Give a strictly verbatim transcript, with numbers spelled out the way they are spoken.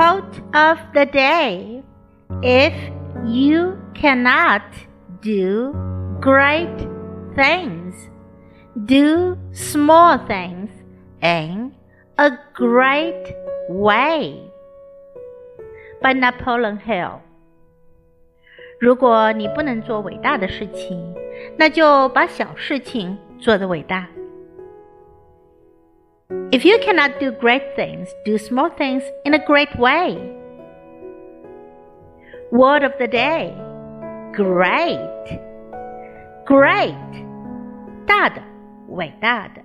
Quote of the day. If you cannot do great things, do small things in a great way. By Napoleon Hill. 如果你不能做伟大的事情，那就把小事情做得伟大。If you cannot do great things, do small things in a great way. Word of the day. Great. Great. 大的，伟大的。